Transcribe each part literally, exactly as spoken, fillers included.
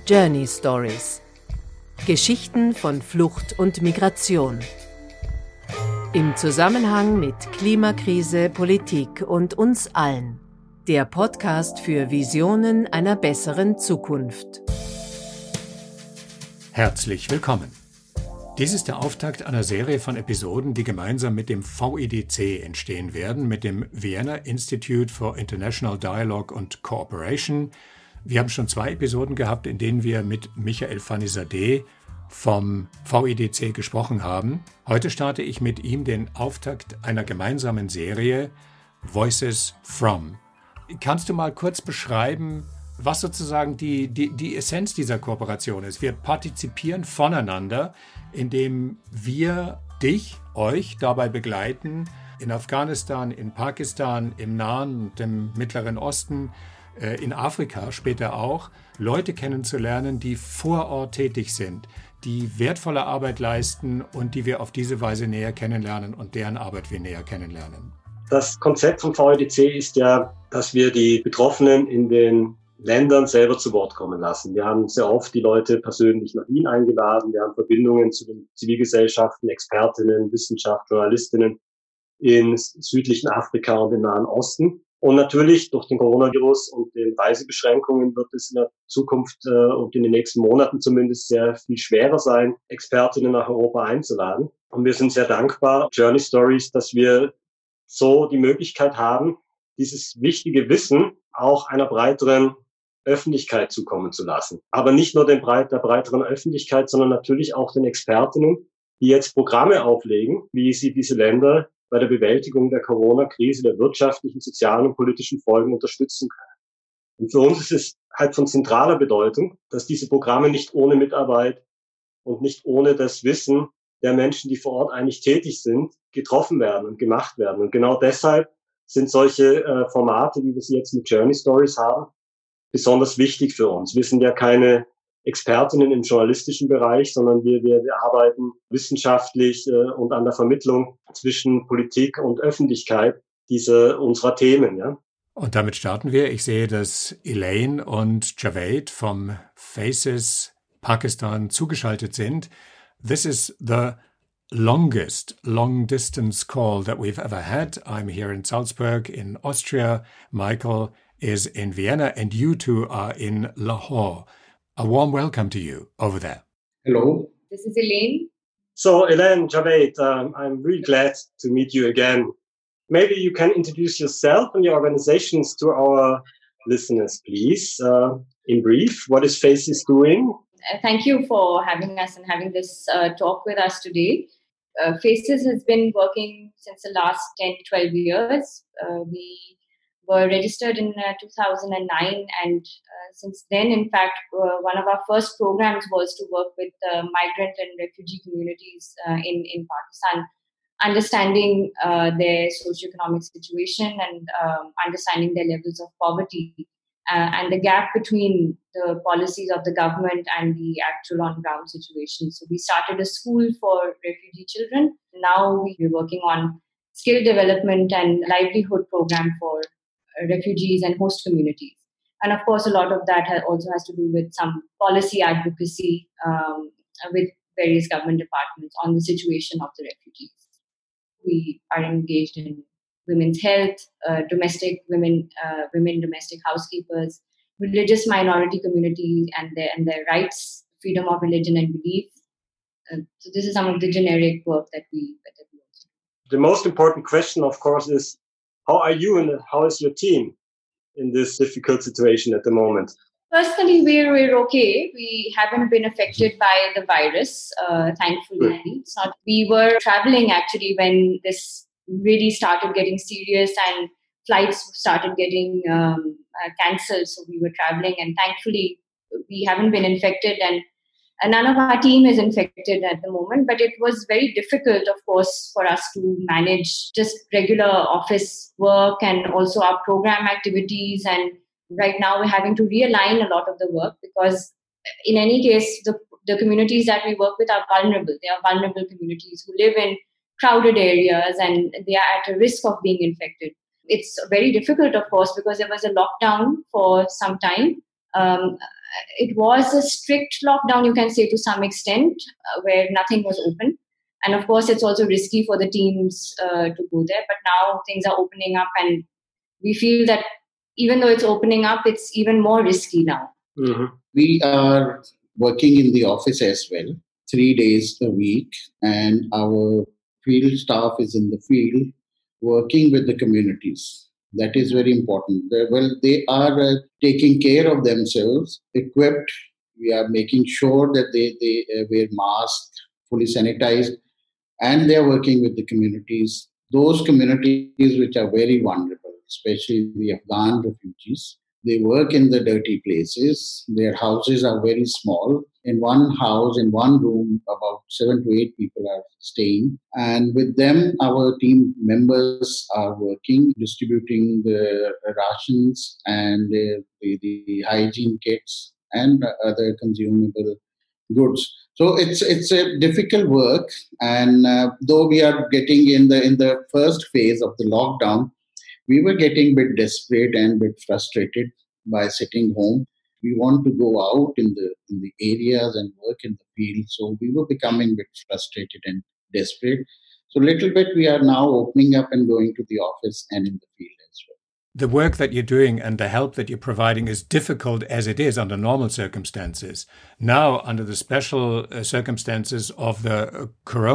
Journey Stories. Geschichten von Flucht und Migration. Im Zusammenhang mit Klimakrise, Politik und uns allen. Der Podcast für Visionen einer besseren Zukunft. Herzlich willkommen. Dies ist der Auftakt einer Serie von Episoden, die gemeinsam mit dem V I D C entstehen werden, mit dem Vienna Institute for International Dialogue and Cooperation. Wir haben schon zwei Episoden gehabt, in denen wir mit Michael Fanizadeh vom V I D C gesprochen haben. Heute starte ich mit ihm den Auftakt einer gemeinsamen Serie Voices From. Kannst du mal kurz beschreiben, was sozusagen die, die, die Essenz dieser Kooperation ist? Wir partizipieren voneinander, indem wir dich, euch dabei begleiten, in Afghanistan, in Pakistan, im Nahen und im Mittleren Osten, in Afrika später auch, Leute kennenzulernen, die vor Ort tätig sind, die wertvolle Arbeit leisten und die wir auf diese Weise näher kennenlernen und deren Arbeit wir näher kennenlernen. Das Konzept vom V I D C ist ja, dass wir die Betroffenen in den Ländern selber zu Wort kommen lassen. Wir haben sehr oft die Leute persönlich nach Wien eingeladen. Wir haben Verbindungen zu den Zivilgesellschaften, Expertinnen, Wissenschaft, Journalistinnen in südlichen Afrika und im Nahen Osten. Und natürlich durch den Coronavirus und den Reisebeschränkungen wird es in der Zukunft äh, und in den nächsten Monaten zumindest sehr viel schwerer sein, Expertinnen nach Europa einzuladen. Und wir sind sehr dankbar, Journey Stories, dass wir so die Möglichkeit haben, dieses wichtige Wissen auch einer breiteren Öffentlichkeit zukommen zu lassen. Aber nicht nur den breit, der breiteren Öffentlichkeit, sondern natürlich auch den Expertinnen, die jetzt Programme auflegen, wie sie diese Länder bei der Bewältigung der Corona-Krise, der wirtschaftlichen, sozialen und politischen Folgen unterstützen können. Und für uns ist es halt von zentraler Bedeutung, dass diese Programme nicht ohne Mitarbeit und nicht ohne das Wissen der Menschen, die vor Ort eigentlich tätig sind, getroffen werden und gemacht werden. Und genau deshalb sind solche äh, Formate, wie wir sie jetzt mit Journey Stories haben, besonders wichtig für uns. Wir sind ja keine Expertinnen im journalistischen Bereich, sondern wir, wir, wir arbeiten wissenschaftlich äh, und an der Vermittlung zwischen Politik und Öffentlichkeit dieser unserer Themen. Ja. Und damit starten wir. Ich sehe, dass Elaine und Javed vom Faces Pakistan zugeschaltet sind. This is the longest long-distance call that we've ever had. I'm here in Salzburg in Austria. Michael is in Vienna and you two are in Lahore. A warm welcome to you over there. Hello. This is Elaine. So, Elaine, Javed, um, I'm really glad to meet you again. Maybe you can introduce yourself and your organizations to our listeners, please. Uh, in brief, what is Faces doing? Uh, thank you for having us and having this uh, talk with us today. Uh, Faces has been working since the last ten, twelve years. Uh, we were registered in uh, two thousand nine, and uh, since then, in fact, uh, one of our first programs was to work with uh, migrant and refugee communities uh, in, in Pakistan, understanding uh, their socioeconomic situation and um, understanding their levels of poverty uh, and the gap between the policies of the government and the actual on-ground situation. So we started a school for refugee children. Now we're working on skill development and livelihood program for refugees and host communities. And of course, a lot of that has also has to do with some policy advocacy um, with various government departments on the situation of the refugees. We are engaged in women's health, uh, domestic women, uh, women domestic housekeepers, religious minority communities and their, and their rights, freedom of religion and belief. Uh, so this is some of the generic work that we, that we do. The most important question, of course, is how are you and how is your team in this difficult situation at the moment? Personally, we're, we're okay. We haven't been affected by the virus, uh, thankfully. It's not, we were traveling actually when this really started getting serious and flights started getting um, uh, cancelled. So we were traveling and thankfully we haven't been infected and And none of our team is infected at the moment, but it was very difficult, of course, for us to manage just regular office work and also our program activities. And right now we're having to realign a lot of the work because in any case, the, the communities that we work with are vulnerable. They are vulnerable communities who live in crowded areas and they are at a risk of being infected. It's very difficult, of course, because there was a lockdown for some time. Um, it was a strict lockdown, you can say, to some extent, uh, where nothing was open. And of course, it's also risky for the teams uh, to go there. But now things are opening up, and we feel that even though it's opening up, it's even more risky now. Mm-hmm. We are working in the office as well, three days a week, and our field staff is in the field working with the communities. That is very important. They're, well, they are uh, taking care of themselves, equipped. We are making sure that they, they uh, wear masks, fully sanitized, and they're working with the communities, those communities which are very vulnerable, especially the Afghan refugees. They work in the dirty places. Their houses are very small. In one house, in one room, about seven to eight people are staying. And with them, our team members are working, distributing the rations and the, the, the hygiene kits and other consumable goods. So it's it's a difficult work. And uh, though we are getting in the in the first phase of the lockdown, we were getting a bit desperate and a bit frustrated by sitting home. We want to go out in the in the areas and work in the field. So we were becoming a bit frustrated and desperate. So little bit we are now opening up and going to the office and in the field as well. The work that you're doing and the help that you're providing is difficult as it is under normal circumstances. Now, under the special uh, circumstances of the uh,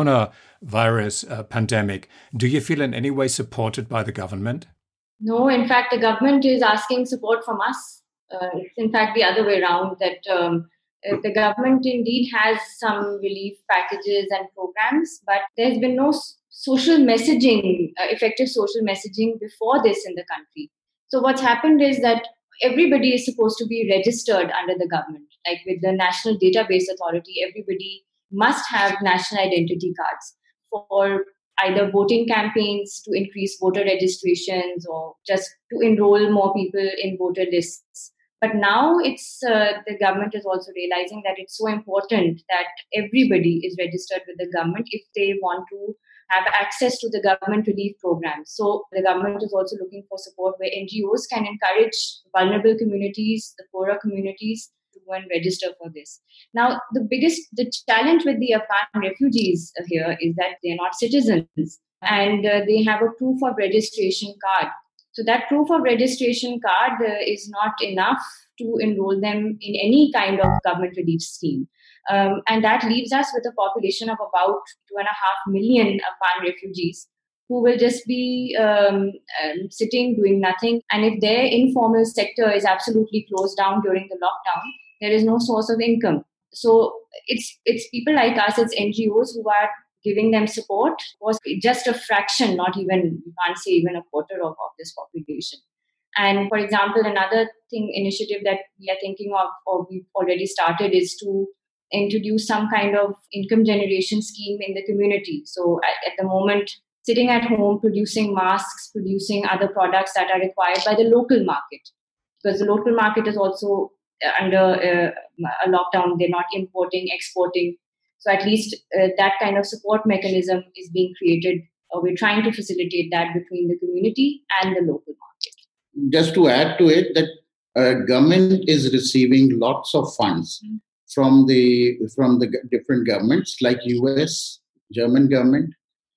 coronavirus uh, pandemic, do you feel in any way supported by the government? No, in fact, the government is asking support from us. Uh, it's in fact the other way around, that um, uh, the government indeed has some relief packages and programs, but there's been no s- social messaging, uh, effective social messaging before this in the country. So what's happened is that everybody is supposed to be registered under the government. Like with the National Database Authority, everybody must have national identity cards for either voting campaigns to increase voter registrations or just to enroll more people in voter lists. But now it's uh, the government is also realizing that it's so important that everybody is registered with the government if they want to have access to the government relief programs. So the government is also looking for support where N G Os can encourage vulnerable communities, the poorer communities, to go and register for this. Now, the biggest, the challenge with the Afghan refugees here is that they're not citizens and uh, they have a proof of registration card. So that proof of registration card uh, is not enough to enroll them in any kind of government relief scheme. Um, and that leaves us with a population of about two and a half million Afghan refugees who will just be um, um, sitting, doing nothing. And if their informal sector is absolutely closed down during the lockdown, there is no source of income. So it's it's people like us, it's N G Os who are giving them support. Was just a fraction, not even, you can't say even a quarter of, of this population. And for example, another thing, initiative that we are thinking of or we've already started is to introduce some kind of income generation scheme in the community. So at, at the moment, sitting at home, producing masks, producing other products that are required by the local market, because the local market is also under uh, a lockdown. They're not importing, exporting. So at least uh, that kind of support mechanism is being created. Uh, we're trying to facilitate that between the community and the local market. Just to add to it, that uh, government is receiving lots of funds mm-hmm. from the from the different governments like U S, German government,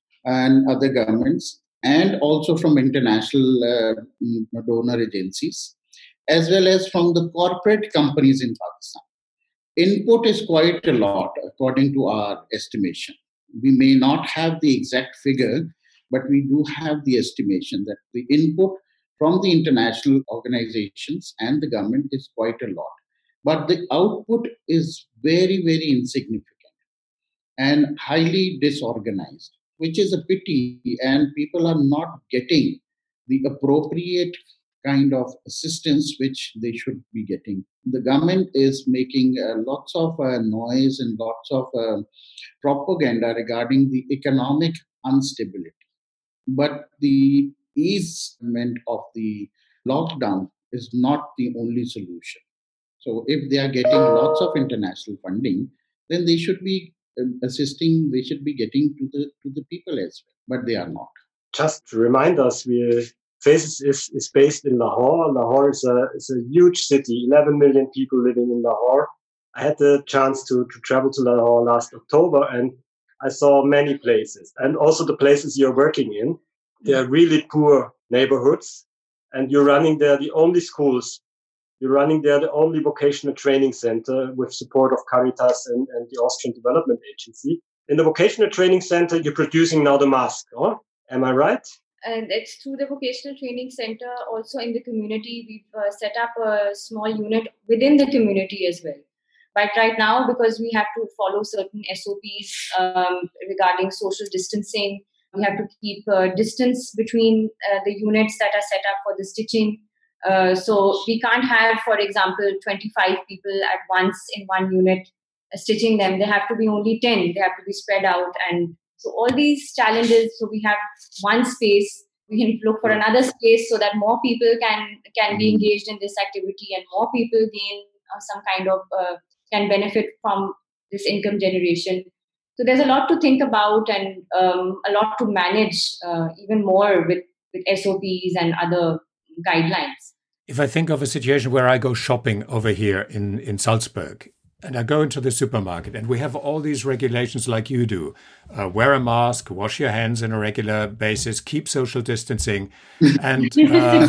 and other governments, and also from international uh, donor agencies, as well as from the corporate companies in Pakistan. Input is quite a lot, according to our estimation. We may not have the exact figure, but we do have the estimation that the input from the international organizations and the government is quite a lot. But the output is very, very insignificant and highly disorganized, which is a pity, and people are not getting the appropriate kind of assistance which they should be getting. The government is making uh, lots of uh, noise and lots of uh, propaganda regarding the economic instability. But the easement of the lockdown is not the only solution. So if they are getting lots of international funding, then they should be assisting, they should be getting to the to the people as well, but they are not. Just to remind us, we Faces is, is based in Lahore. Lahore is a, is a huge city, eleven million people living in Lahore. I had the chance to, to travel to Lahore last October, and I saw many places, and also the places you're working in. They're really poor neighborhoods, and you're running there the only schools. You're running there the only vocational training center with support of Caritas and, and the Austrian Development Agency. In the vocational training center, you're producing now the mask. Oh? Am I right? And it's through the vocational training center. Also in the community, we've uh, set up a small unit within the community as well. But right now, because we have to follow certain S O Ps um, regarding social distancing, we have to keep uh, distance between uh, the units that are set up for the stitching. Uh, so we can't have, for example, twenty-five people at once in one unit uh, stitching them. They have to be only ten. They have to be spread out. And so all these challenges, so we have one space. We can look for another space so that more people can, can be engaged in this activity and more people gain uh, some kind of, uh, can benefit from this income generation. So there's a lot to think about and um, a lot to manage uh, even more with, with S O Ps and other guidelines. If I think of a situation where I go shopping over here in, in Salzburg, and I go into the supermarket and we have all these regulations like you do. Uh, wear a mask, wash your hands on a regular basis, keep social distancing. And uh,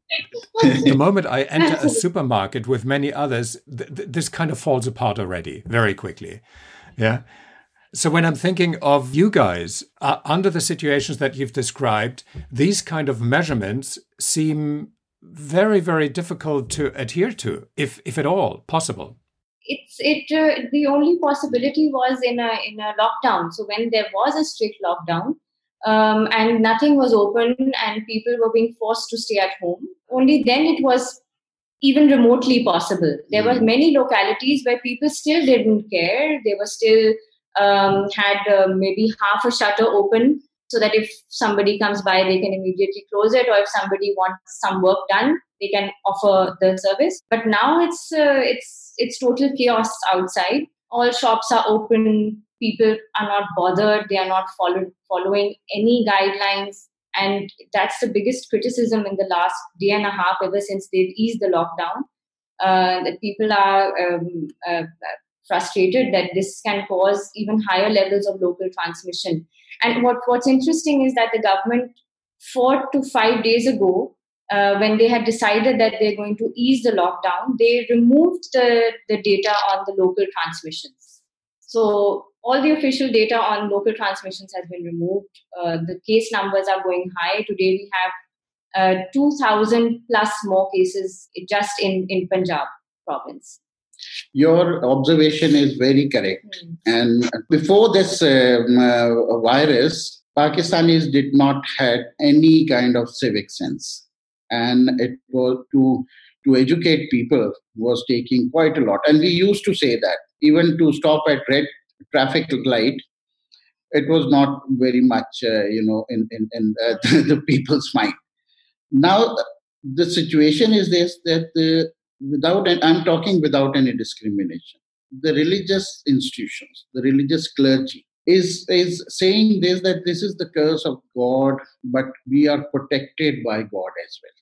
the moment I enter a supermarket with many others, th- th- this kind of falls apart already very quickly. Yeah. So when I'm thinking of you guys, uh, under the situations that you've described, these kind of measurements seem very, very difficult to adhere to, if if at all possible. It's it. Uh, the only possibility was in a in a lockdown. So when there was a strict lockdown um, and nothing was open and people were being forced to stay at home, only then it was even remotely possible. There were many localities where people still didn't care. They were still um, had uh, maybe half a shutter open, so that if somebody comes by, they can immediately close it, or if somebody wants some work done, they can offer the service. But now it's uh, it's it's total chaos outside. All shops are open. People are not bothered. They are not follow- following any guidelines. And that's the biggest criticism in the last day and a half, ever since they've eased the lockdown. Uh, that people are um, uh, frustrated that this can cause even higher levels of local transmission. And what, what's interesting is that the government, four to five days ago, uh, when they had decided that they're going to ease the lockdown, they removed the, the data on the local transmissions. So all the official data on local transmissions has been removed. Uh, the case numbers are going high. Today we have uh, two thousand plus more cases just in, in Punjab province. Your observation is very correct. Mm. And before this um, uh, virus, Pakistanis did not have any kind of civic sense. And it was to, to educate people was taking quite a lot. And we used to say that even to stop at red traffic light, it was not very much, uh, you know, in, in, in uh, the people's mind. Now, the situation is this, that the without, and I'm talking without any discrimination, the religious institutions, the religious clergy is, is saying this, that this is the curse of God, but we are protected by God as well.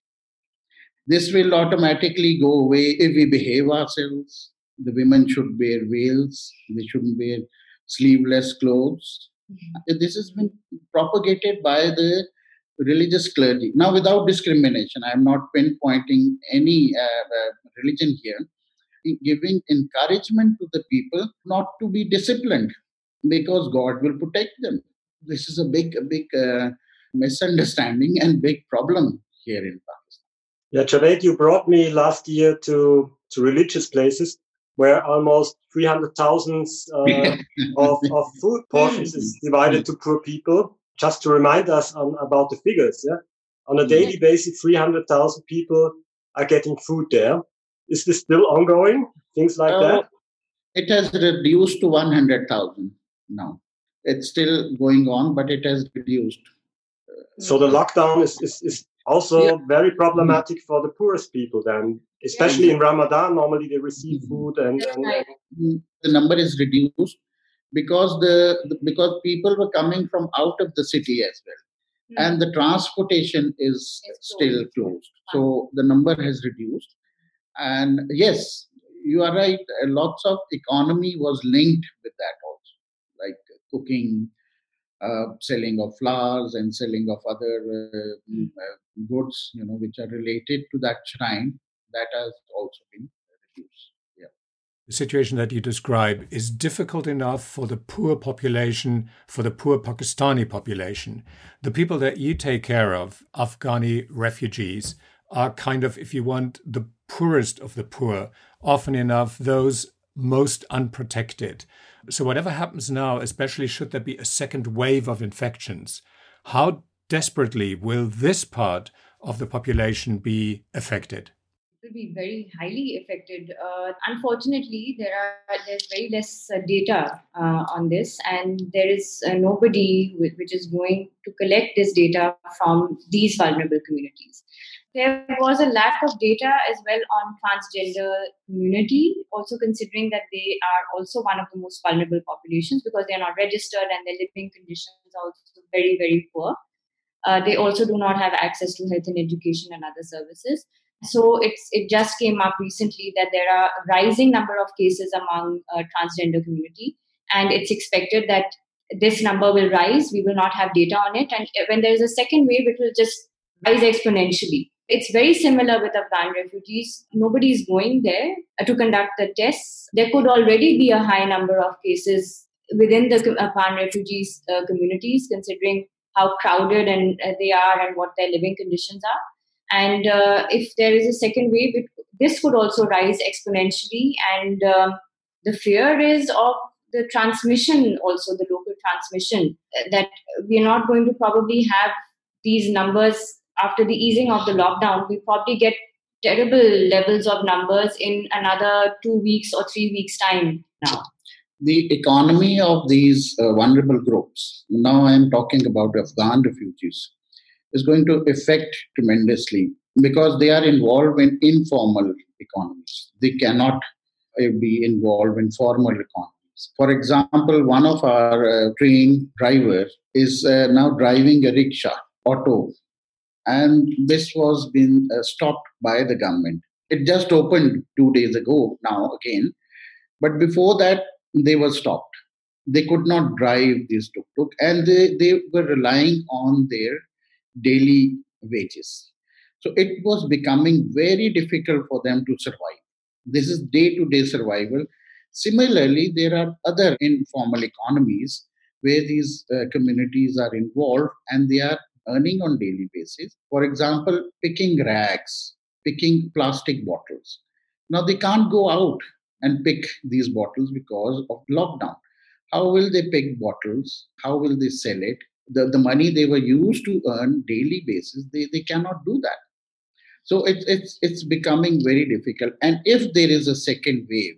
This will automatically go away if we behave ourselves. The women should wear veils. They shouldn't wear sleeveless clothes. Mm-hmm. This has been propagated by the religious clergy. Now, without discrimination, I am not pinpointing any uh, uh, religion here, giving encouragement to the people not to be disciplined because God will protect them. This is a big, a big uh, misunderstanding and big problem here in Pakistan. Yeah, Javed, you brought me last year to, to religious places where almost three hundred thousand uh, of, of food portions is divided to poor people. Just to remind us on, about the figures, yeah, on a daily basis, three hundred thousand people are getting food there. Is this still ongoing? Things like uh, that? It has reduced to one hundred thousand now. It's still going on, but it has reduced. So the lockdown is, is, is also yeah. very problematic for the poorest people then, especially yeah. in Ramadan. Normally they receive food and, and, and the number is reduced because the, the because people were coming from out of the city as well. and the transportation is It's still closed. closed. So the number has reduced. And yes, you are right. uh, Lots of economy was linked with that also, like cooking, uh, selling of flowers, and selling of other uh, mm, Mm. uh, goods, you know, which are related to that shrine. That has also been reduced. Yeah. The situation that you describe is difficult enough for the poor population, for the poor Pakistani population. The people that you take care of, Afghani refugees, are kind of, if you want, the poorest of the poor, often enough those most unprotected. So whatever happens now, especially should there be a second wave of infections, how desperately will this part of the population be affected? Will be very highly affected. Uh, unfortunately, there are there's very less uh, data uh, on this, and there is uh, nobody whi- which is going to collect this data from these vulnerable communities. There was a lack of data as well on transgender community, also considering that they are also one of the most vulnerable populations because they are not registered and their living conditions are also very very poor. Uh, they also do not have access to health and education and other services. So it's it just came up recently that there are a rising number of cases among uh, transgender community, and it's expected that this number will rise. We will not have data on it, and when there is a second wave, it will just rise exponentially. It's very similar with Afghan refugees. Nobody is going there uh, to conduct the tests. There could already be a high number of cases within the com- Afghan refugees uh, communities, considering how crowded and uh, they are and what their living conditions are. And uh, if there is a second wave, it, this could also rise exponentially. And um, the fear is of the transmission, also the local transmission, uh, that we are not going to probably have these numbers after the easing of the lockdown. We probably get terrible levels of numbers in another two weeks or three weeks' time now. The economy of these uh, vulnerable groups, now I am talking about Afghan refugees, is going to affect tremendously because they are involved in informal economies. They cannot uh, be involved in formal economies. For example, one of our uh, train drivers is uh, now driving a rickshaw, auto, and this was been uh, stopped by the government. It just opened two days ago now again, but before that, they were stopped. They could not drive this tuk-tuk and they, they were relying on their daily wages. So it was becoming very difficult for them to survive. This is day-to-day survival. Similarly, there are other informal economies where these uh, communities are involved and they are earning on daily basis. For example, picking rags, picking plastic bottles. Now they can't go out and pick these bottles because of lockdown. How will they pick bottles? How will they sell it? The, the money they were used to earn daily basis, they, they cannot do that. So it's it's it's becoming very difficult. And if there is a second wave,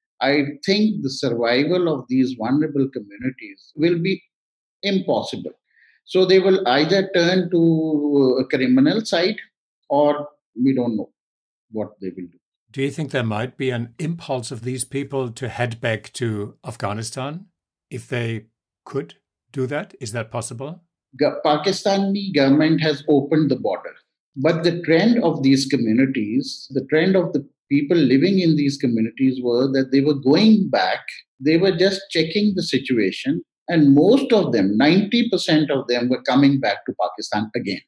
I think the survival of these vulnerable communities will be impossible. So they will either turn to a criminal side or we don't know what they will do. Do you think there might be an impulse of these people to head back to Afghanistan if they could do that? Is that possible? Ga- Pakistani government has opened the border, but the trend of these communities, the trend of the people living in these communities were that they were going back. They were just checking the situation, and most of them, ninety percent of them, were coming back to Pakistan again.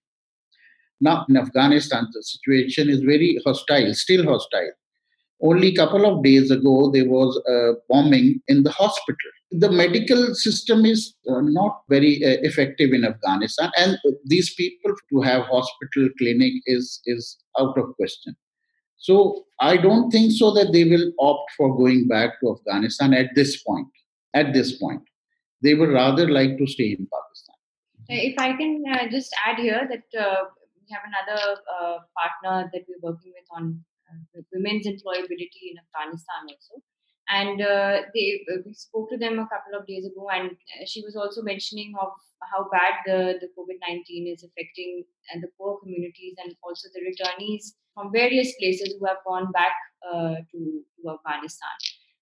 Now, in Afghanistan, the situation is very hostile, still hostile. Only a couple of days ago, there was a bombing in the hospital. The medical system is uh, not very uh, effective in Afghanistan, and these people to have hospital clinic is is out of question. So I don't think so that they will opt for going back to Afghanistan at this point. At this point, they would rather like to stay in Pakistan. If I can uh, just add here that uh, we have another uh, partner that we're working with on uh, women's employability in Afghanistan also. And uh, they, uh, we spoke to them a couple of days ago, and uh, she was also mentioning of how bad the, the COVID nineteen is affecting uh, the poor communities and also the returnees from various places who have gone back uh, to, to Afghanistan.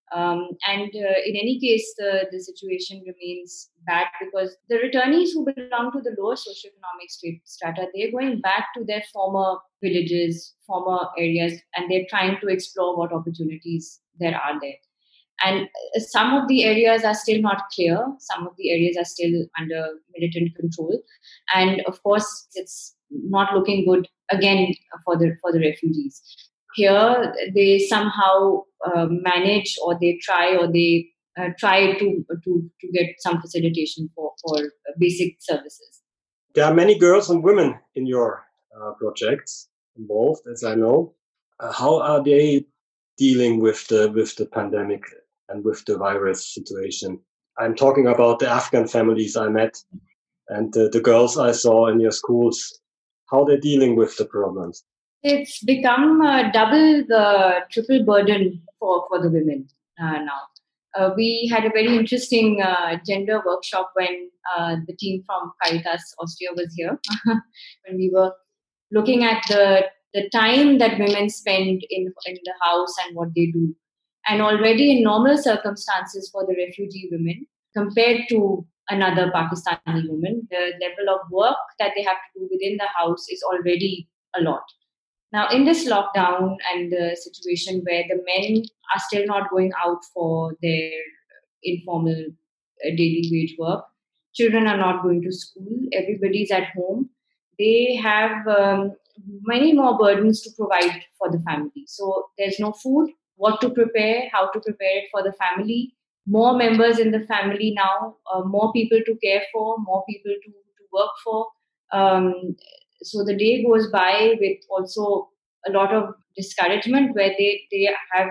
Um, and uh, in any case, the, the situation remains bad because the returnees who belong to the lower socioeconomic strata, they're going back to their former villages, former areas, and they're trying to explore what opportunities there are there. And some of the areas are still not clear. Some of the areas are still under militant control. And of course, it's not looking good again for the for the refugees. Here, they somehow uh, manage, or they try, or they uh, try to, to to get some facilitation for, for basic services. There are many girls and women in your uh, projects involved, as I know. Uh, how are they dealing with the with the pandemic and with the virus situation? I'm talking about the Afghan families I met and uh, the girls I saw in your schools. How they're dealing with the problems? It's become uh, double the triple burden for, for the women uh, now. Uh, we had a very interesting uh, gender workshop when uh, the team from Caritas Austria was here, when we were looking at the, the time that women spend in, in the house and what they do. And already in normal circumstances for the refugee women, compared to another Pakistani woman, the level of work that they have to do within the house is already a lot. Now, in this lockdown and the situation where the men are still not going out for their informal uh, daily wage work, children are not going to school, everybody's at home, they have um, many more burdens to provide for the family. So there's no food, what to prepare, how to prepare it for the family, more members in the family now, uh, more people to care for, more people to, to work for. Um, So the day goes by with also a lot of discouragement where they, they have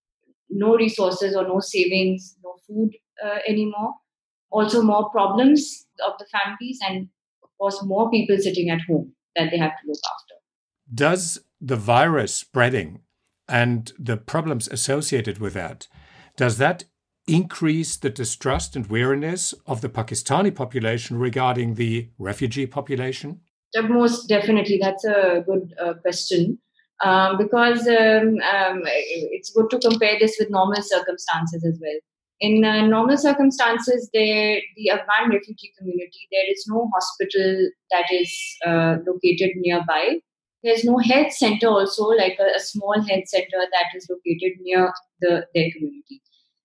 no resources or no savings, no food uh, anymore. Also more problems of the families and, of course, more people sitting at home that they have to look after. Does the virus spreading and the problems associated with that, does that increase the distrust and weariness of the Pakistani population regarding the refugee population? Most definitely. That's a good uh, question um, because um, um, it's good to compare this with normal circumstances as well. In uh, normal circumstances, there, the Afghan refugee community, there is no hospital that is uh, located nearby. There's no health center also, like a, a small health center that is located near the, their community.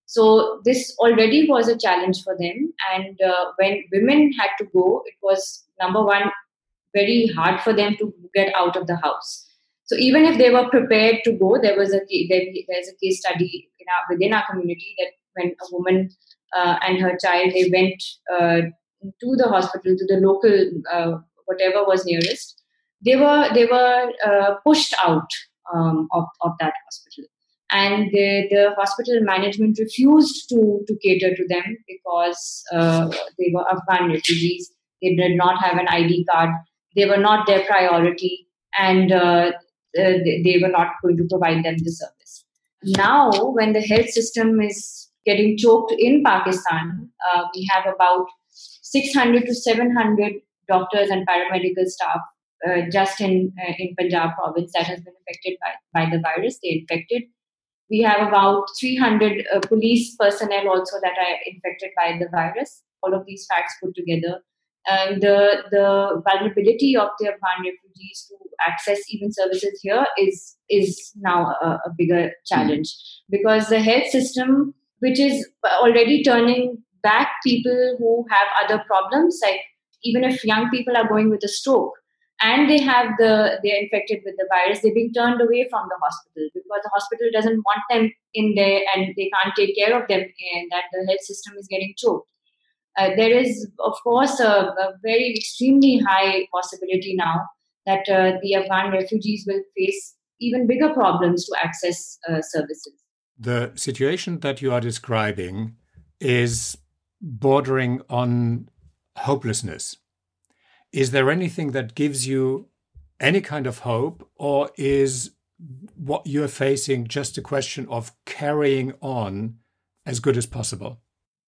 So this already was a challenge for them. And uh, when women had to go, it was, number one, very hard for them to get out of the house. So even if they were prepared to go, there was a there, there's a case study in our, within our community that when a woman uh, and her child, they went uh, to the hospital, to the local uh, whatever was nearest, they were they were uh, pushed out um, of of that hospital, and the, the hospital management refused to to cater to them because uh, they were Afghan refugees. They did not have an I D card. They were not their priority, and uh, they, they were not going to provide them the service. Now, when the health system is getting choked in Pakistan, uh, we have about six hundred to seven hundred doctors and paramedical staff uh, just in uh, in Punjab province that has been affected by, by the virus. They infected. We have about three hundred uh, police personnel also that are infected by the virus. All of these facts put together. And the, the vulnerability of the Afghan refugees to access even services here is, is now a, a bigger challenge because the health system, which is already turning back people who have other problems, like even if young people are going with a stroke and they have the, they're infected with the virus, they're being turned away from the hospital because the hospital doesn't want them in there and they can't take care of them and that the health system is getting choked. Uh, there is, of course, a, a very extremely high possibility now that uh, the Afghan refugees will face even bigger problems to access uh, services. The situation that you are describing is bordering on hopelessness. Is there anything that gives you any kind of hope, or is what you're facing just a question of carrying on as good as possible?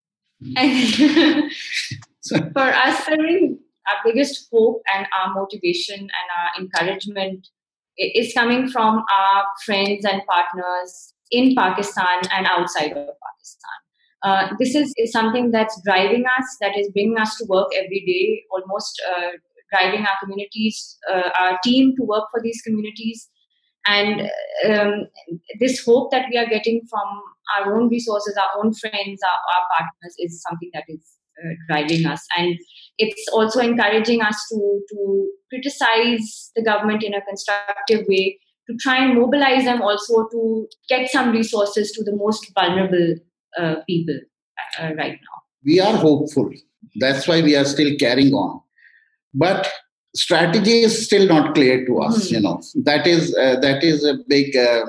For us, I mean, our biggest hope and our motivation and our encouragement is coming from our friends and partners in Pakistan and outside of Pakistan. Uh, this is, is something that's driving us, that is bringing us to work every day, almost uh, driving our communities, uh, our team to work for these communities. And um, this hope that we are getting from our own resources, our own friends, our, our partners is something that is uh, driving us. And it's also encouraging us to, to criticize the government in a constructive way, to try and mobilize them also to get some resources to the most vulnerable uh, people uh, right now. We are hopeful. That's why we are still carrying on. But strategy is still not clear to us. Mm-hmm. You know, that is uh, that is a big, uh,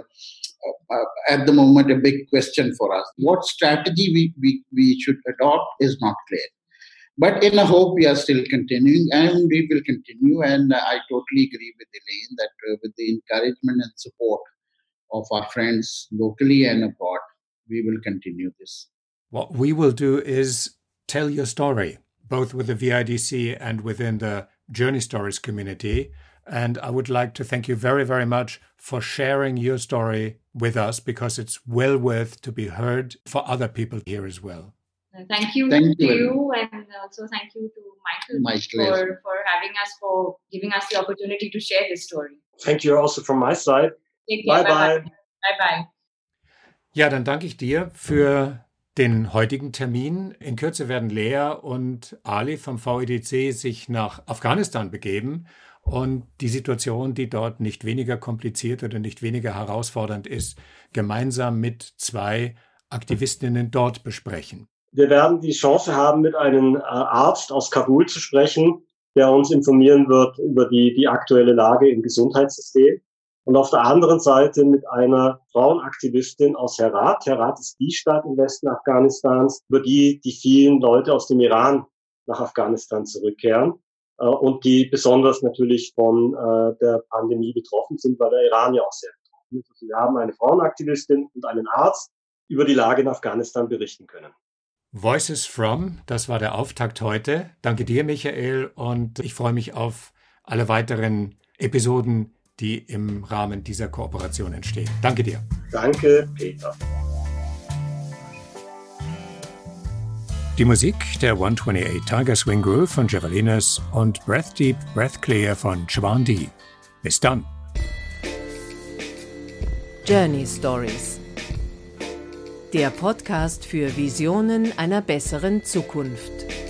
uh, at the moment, a big question for us. What strategy we, we, we should adopt is not clear. But in a hope, we are still continuing, and we will continue. And I totally agree with Elaine that uh, with the encouragement and support of our friends locally and abroad, we will continue this. What we will do is tell your story, both with the V I D C and within the Journey Stories community. And I would like to thank you very, very much for sharing your story with us, because it's well worth to be heard for other people here as well. Thank you thank to you. you, and also thank you to Michael My for, for having us, for giving us the opportunity to share this story. Thank you also from my side. Bye bye. Bye bye. Ja, dann danke ich dir für den heutigen Termin. In Kürze werden Lea und Ali vom V I D C sich nach Afghanistan begeben und die Situation, die dort nicht weniger kompliziert oder nicht weniger herausfordernd ist, gemeinsam mit zwei Aktivistinnen dort besprechen. Wir werden die Chance haben, mit einem Arzt aus Kabul zu sprechen, der uns informieren wird über die, die aktuelle Lage im Gesundheitssystem. Und auf der anderen Seite mit einer Frauenaktivistin aus Herat. Herat ist die Stadt im Westen Afghanistans, über die die vielen Leute aus dem Iran nach Afghanistan zurückkehren äh, und die besonders natürlich von äh, der Pandemie betroffen sind, weil der Iran ja auch sehr betroffen ist. Also wir haben eine Frauenaktivistin und einen Arzt, über die Lage in Afghanistan berichten können. Voices from, das war der Auftakt heute. Danke dir, Michael, und ich freue mich auf alle weiteren Episoden, die im Rahmen dieser Kooperation entstehen. Danke dir. Danke, Peter. Die Musik der one twenty-eight Tiger Swing Groove von Javelinas und Breath Deep, Breath Clear von Chwandi. Bis dann. Journey Stories. Der Podcast für Visionen einer besseren Zukunft.